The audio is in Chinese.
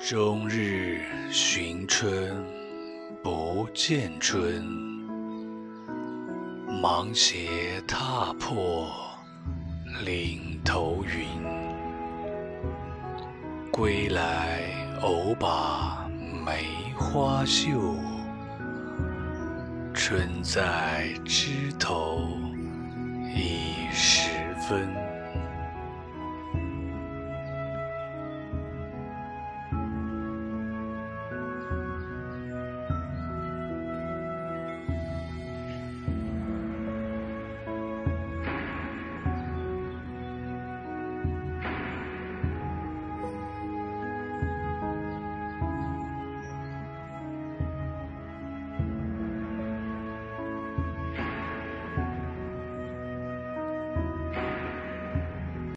终日寻春不见春，芒鞋踏破岭头云。归来偶把梅花嗅，春在枝头已时分。